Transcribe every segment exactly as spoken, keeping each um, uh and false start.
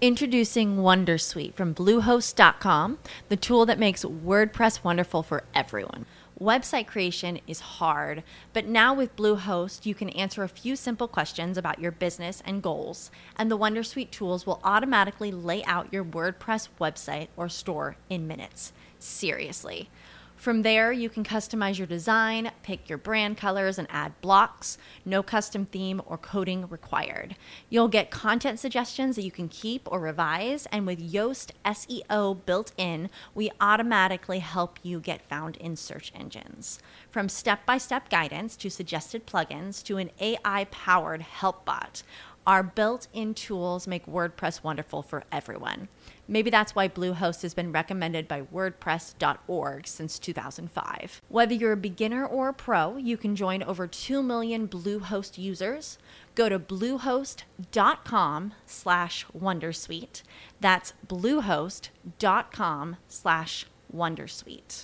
Introducing Wondersuite from Bluehost dot com, the tool that makes WordPress wonderful for everyone. Website creation is hard, but now with Bluehost, you can answer a few simple questions about your business and goals, and the Wondersuite tools will automatically lay out your WordPress website or store in minutes. Seriously. From there, you can customize your design, pick your brand colors, and add blocks. No custom theme or coding required. You'll get content suggestions that you can keep or revise, and with Yoast S E O built in, we automatically help you get found in search engines. From step-by-step guidance to suggested plugins to an A I-powered help bot, our built-in tools make WordPress wonderful for everyone. Maybe that's why Bluehost has been recommended by WordPress dot org since two thousand five. Whether you're a beginner or a pro, you can join over two million Bluehost users. Go to bluehost dot com slash wondersuite. That's bluehost dot com slash wondersuite.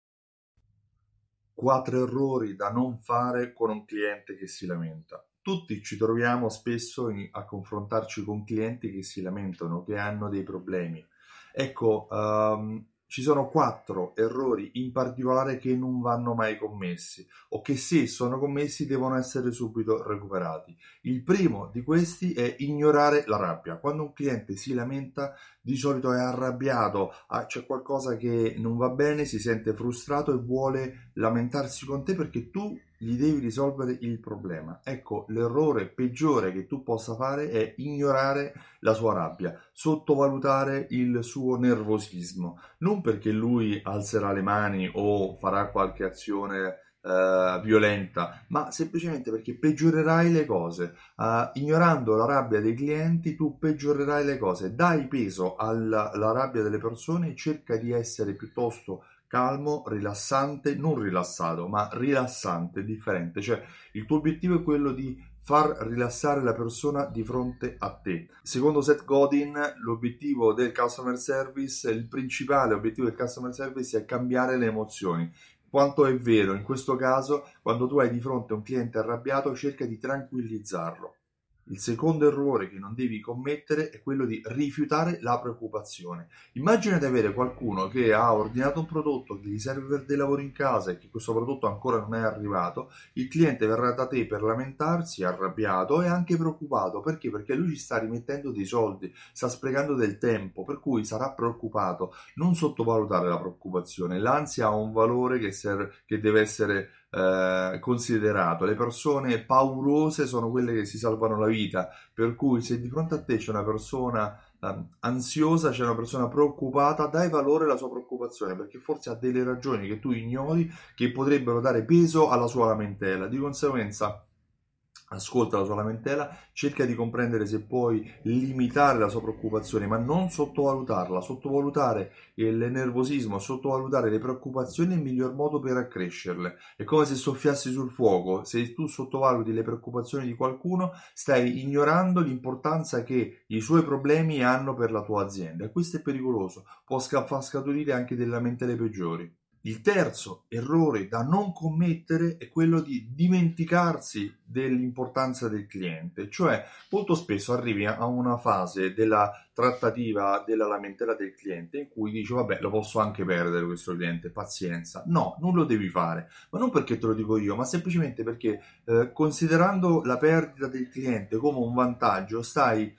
Quattro errori da non fare con un cliente che si lamenta. Tutti ci troviamo spesso in, a confrontarci con clienti che si lamentano, che hanno dei problemi. Ecco, um, ci sono quattro errori in particolare che non vanno mai commessi o che se sono commessi devono essere subito recuperati. Il primo di questi è ignorare la rabbia. Quando un cliente si lamenta, di solito è arrabbiato, ah, c'è qualcosa che non va bene, si sente frustrato e vuole lamentarsi con te perché tu gli devi risolvere il problema. Ecco, l'errore peggiore che tu possa fare è ignorare la sua rabbia, sottovalutare il suo nervosismo, non perché lui alzerà le mani o farà qualche azione Uh, violenta, ma semplicemente perché peggiorerai le cose. Uh, ignorando la rabbia dei clienti, tu peggiorerai le cose. Dai peso alla, alla rabbia delle persone e cerca di essere piuttosto calmo, rilassante, non rilassato, ma rilassante, differente. Cioè, il tuo obiettivo è quello di far rilassare la persona di fronte a te. Secondo Seth Godin, l'obiettivo del customer service, il principale obiettivo del customer service è cambiare le emozioni. Quanto è vero, in questo caso, quando tu hai di fronte un cliente arrabbiato, cerca di tranquillizzarlo. Il secondo errore che non devi commettere è quello di rifiutare la preoccupazione. Immagina di avere qualcuno che ha ordinato un prodotto che gli serve per dei lavori in casa e che questo prodotto ancora non è arrivato. Il cliente verrà da te per lamentarsi, arrabbiato e anche preoccupato. Perché? Perché lui ci sta rimettendo dei soldi, sta sprecando del tempo, per cui sarà preoccupato. Non sottovalutare la preoccupazione. L'ansia ha un valore che, serve, che deve essere Eh, considerato. Le persone paurose sono quelle che si salvano la vita, per cui se di fronte a te c'è una persona eh, ansiosa, c'è una persona preoccupata, dai valore alla sua preoccupazione, perché forse ha delle ragioni che tu ignori che potrebbero dare peso alla sua lamentela. Di conseguenza ascolta la sua lamentela, cerca di comprendere se puoi limitare la sua preoccupazione, ma non sottovalutarla. Sottovalutare il nervosismo, sottovalutare le preoccupazioni è il miglior modo per accrescerle. È come se soffiassi sul fuoco. Se tu sottovaluti le preoccupazioni di qualcuno, stai ignorando l'importanza che i suoi problemi hanno per la tua azienda, e questo è pericoloso, può far scaturire anche delle lamentele peggiori. Il terzo errore da non commettere è quello di dimenticarsi dell'importanza del cliente, cioè molto spesso arrivi a una fase della trattativa della lamentela del cliente in cui dici vabbè, lo posso anche perdere questo cliente, pazienza. No, non lo devi fare, ma non perché te lo dico io, ma semplicemente perché eh, considerando la perdita del cliente come un vantaggio stai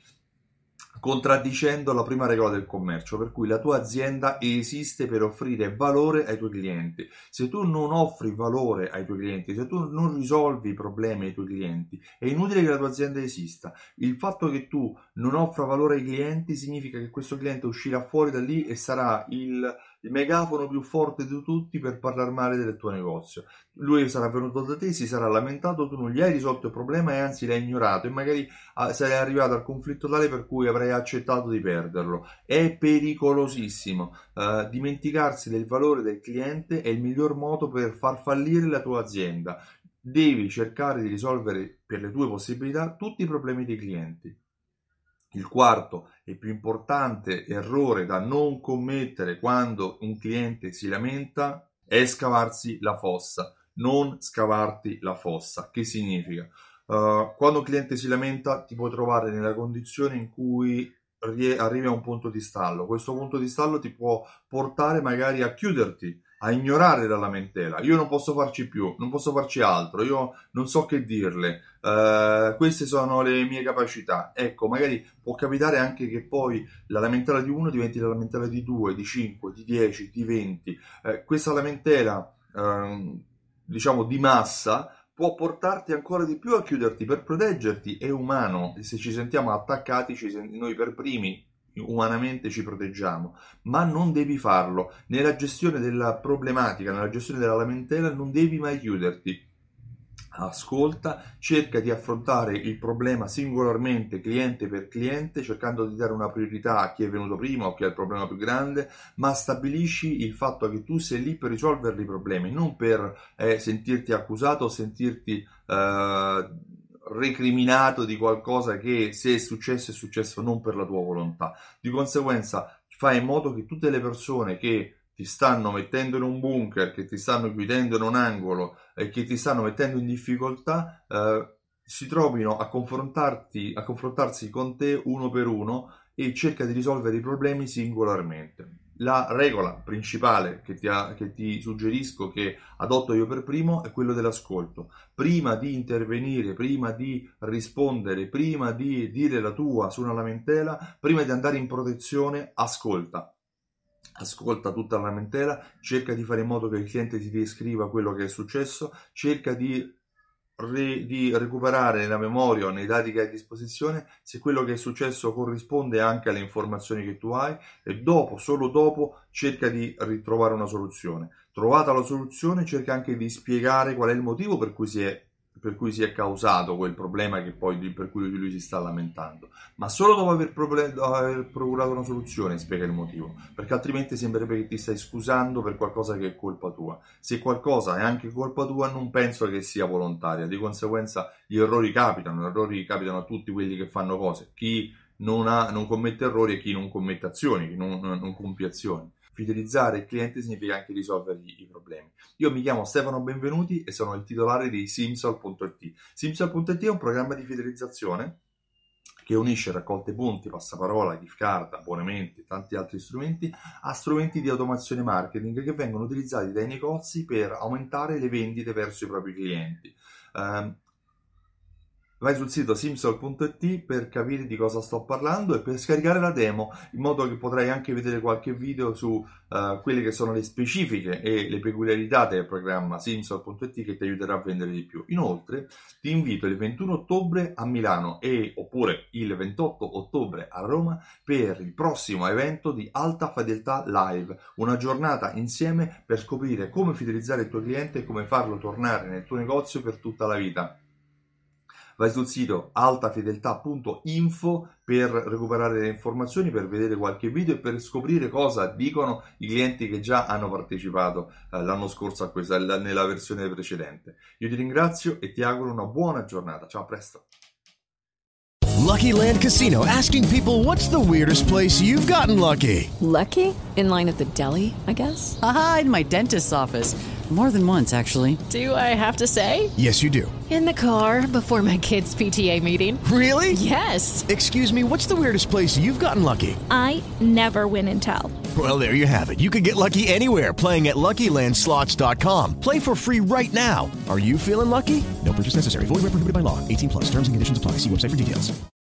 contraddicendo la prima regola del commercio, per cui la tua azienda esiste per offrire valore ai tuoi clienti. Se tu non offri valore ai tuoi clienti, se tu non risolvi i problemi ai tuoi clienti, è inutile che la tua azienda esista. Il fatto che tu non offra valore ai clienti significa che questo cliente uscirà fuori da lì e sarà il, il megafono più forte di tutti per parlare male del tuo negozio. Lui sarà venuto da te, si sarà lamentato, tu non gli hai risolto il problema e anzi l'hai ignorato e magari ah, sei arrivato al conflitto tale per cui avrai accettato di perderlo. È pericolosissimo. Uh, dimenticarsi del valore del cliente è il miglior modo per far fallire la tua azienda. Devi cercare di risolvere per le tue possibilità tutti i problemi dei clienti. Il quarto e più importante errore da non commettere quando un cliente si lamenta è scavarsi la fossa. Non scavarti la fossa. Che significa? Uh, quando un cliente si lamenta ti puoi trovare nella condizione in cui arrivi a un punto di stallo. Questo punto di stallo ti può portare magari a chiuderti, a ignorare la lamentela. Io non posso farci più, non posso farci altro, io non so che dirle, uh, queste sono le mie capacità. Ecco, magari può capitare anche che poi la lamentela di uno diventi la lamentela di due, di cinque, di dieci, di venti. Uh, questa lamentela, uh, diciamo, di massa può portarti ancora di più a chiuderti. Per proteggerti è umano, se ci sentiamo attaccati, ci sent- noi per primi umanamente ci proteggiamo, ma non devi farlo. Nella gestione della problematica, nella gestione della lamentela non devi mai chiuderti. Ascolta, cerca di affrontare il problema singolarmente, cliente per cliente, cercando di dare una priorità a chi è venuto prima o chi ha il problema più grande, ma stabilisci il fatto che tu sei lì per risolvere i problemi, non per eh, sentirti accusato o sentirti eh, recriminato di qualcosa che, se è successo, è successo non per la tua volontà. Di conseguenza fai in modo che tutte le persone che ti stanno mettendo in un bunker, che ti stanno chiudendo in un angolo e che ti stanno mettendo in difficoltà, eh, si trovino a confrontarti, a confrontarsi con te uno per uno, e cerca di risolvere i problemi singolarmente. La regola principale che ti, ha, che ti suggerisco, che adotto io per primo, è quello dell'ascolto. Prima di intervenire, prima di rispondere, prima di dire la tua su una lamentela, prima di andare in protezione, ascolta. Ascolta tutta la lamentela, cerca di fare in modo che il cliente ti descriva quello che è successo, cerca di, re, di recuperare nella memoria o nei dati che hai a disposizione se quello che è successo corrisponde anche alle informazioni che tu hai, e dopo, solo dopo, cerca di ritrovare una soluzione. Trovata la soluzione, cerca anche di spiegare qual è il motivo per cui si è per cui si è causato quel problema che poi per cui lui si sta lamentando, ma solo dopo aver, problem- aver procurato una soluzione spiega il motivo, perché altrimenti sembrerebbe che ti stai scusando per qualcosa che è colpa tua. Se qualcosa è anche colpa tua, non penso che sia volontaria. Di conseguenza gli errori capitano, gli errori capitano a tutti quelli che fanno cose, chi non, ha, non commette errori e chi non commette azioni, chi non, non compie azioni. Fidelizzare il cliente significa anche risolvergli i problemi. Io mi chiamo Stefano Benvenuti e sono il titolare di Simsol punto it. Simsol punto it è un programma di fidelizzazione che unisce raccolte punti, passaparola, gift card, abbonamenti e tanti altri strumenti a strumenti di automazione marketing che vengono utilizzati dai negozi per aumentare le vendite verso i propri clienti. Um, Vai sul sito simsol punto it per capire di cosa sto parlando e per scaricare la demo, in modo che potrai anche vedere qualche video su uh, quelle che sono le specifiche e le peculiarità del programma simsol punto it che ti aiuterà a vendere di più. Inoltre ti invito il ventuno ottobre a Milano e oppure il ventotto ottobre a Roma per il prossimo evento di Alta Fedeltà Live, una giornata insieme per scoprire come fidelizzare il tuo cliente e come farlo tornare nel tuo negozio per tutta la vita. Vai sul sito altafedeltà punto info per recuperare le informazioni, per vedere qualche video e per scoprire cosa dicono i clienti che già hanno partecipato eh, l'anno scorso a questa, nella versione precedente. Io ti ringrazio e ti auguro una buona giornata. Ciao, a presto. Lucky Land Casino, asking people, what's the weirdest place you've gotten lucky? Lucky? In line at the deli, I guess? Aha, in my dentist's office. More than once, actually. Do I have to say? Yes, you do. In the car before my kids' P T A meeting. Really? Yes. Excuse me, what's the weirdest place you've gotten lucky? I never win and tell. Well, there you have it. You can get lucky anywhere, playing at Lucky Land Slots dot com. Play for free right now. Are you feeling lucky? No purchase necessary. Void where prohibited by law. eighteen plus. Terms and conditions apply. See website for details.